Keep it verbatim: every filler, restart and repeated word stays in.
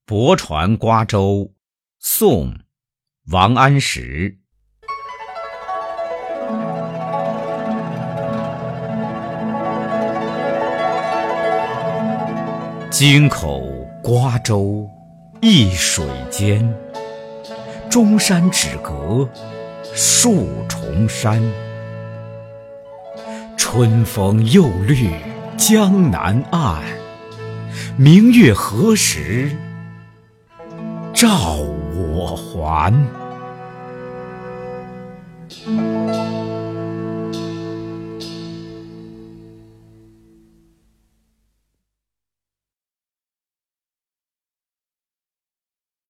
泊船瓜洲，宋·王安石。京口瓜洲一水间，中山只隔数重山。春风又绿江南岸，明月何时照我还？